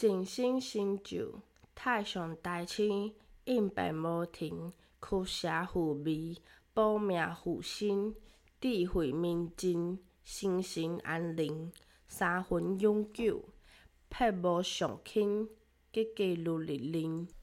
静心成就，太上大清，应变无停，驱邪护味，保命护身，智慧明镜，心神安宁，三分永久，撇无上轻，家家如日宁。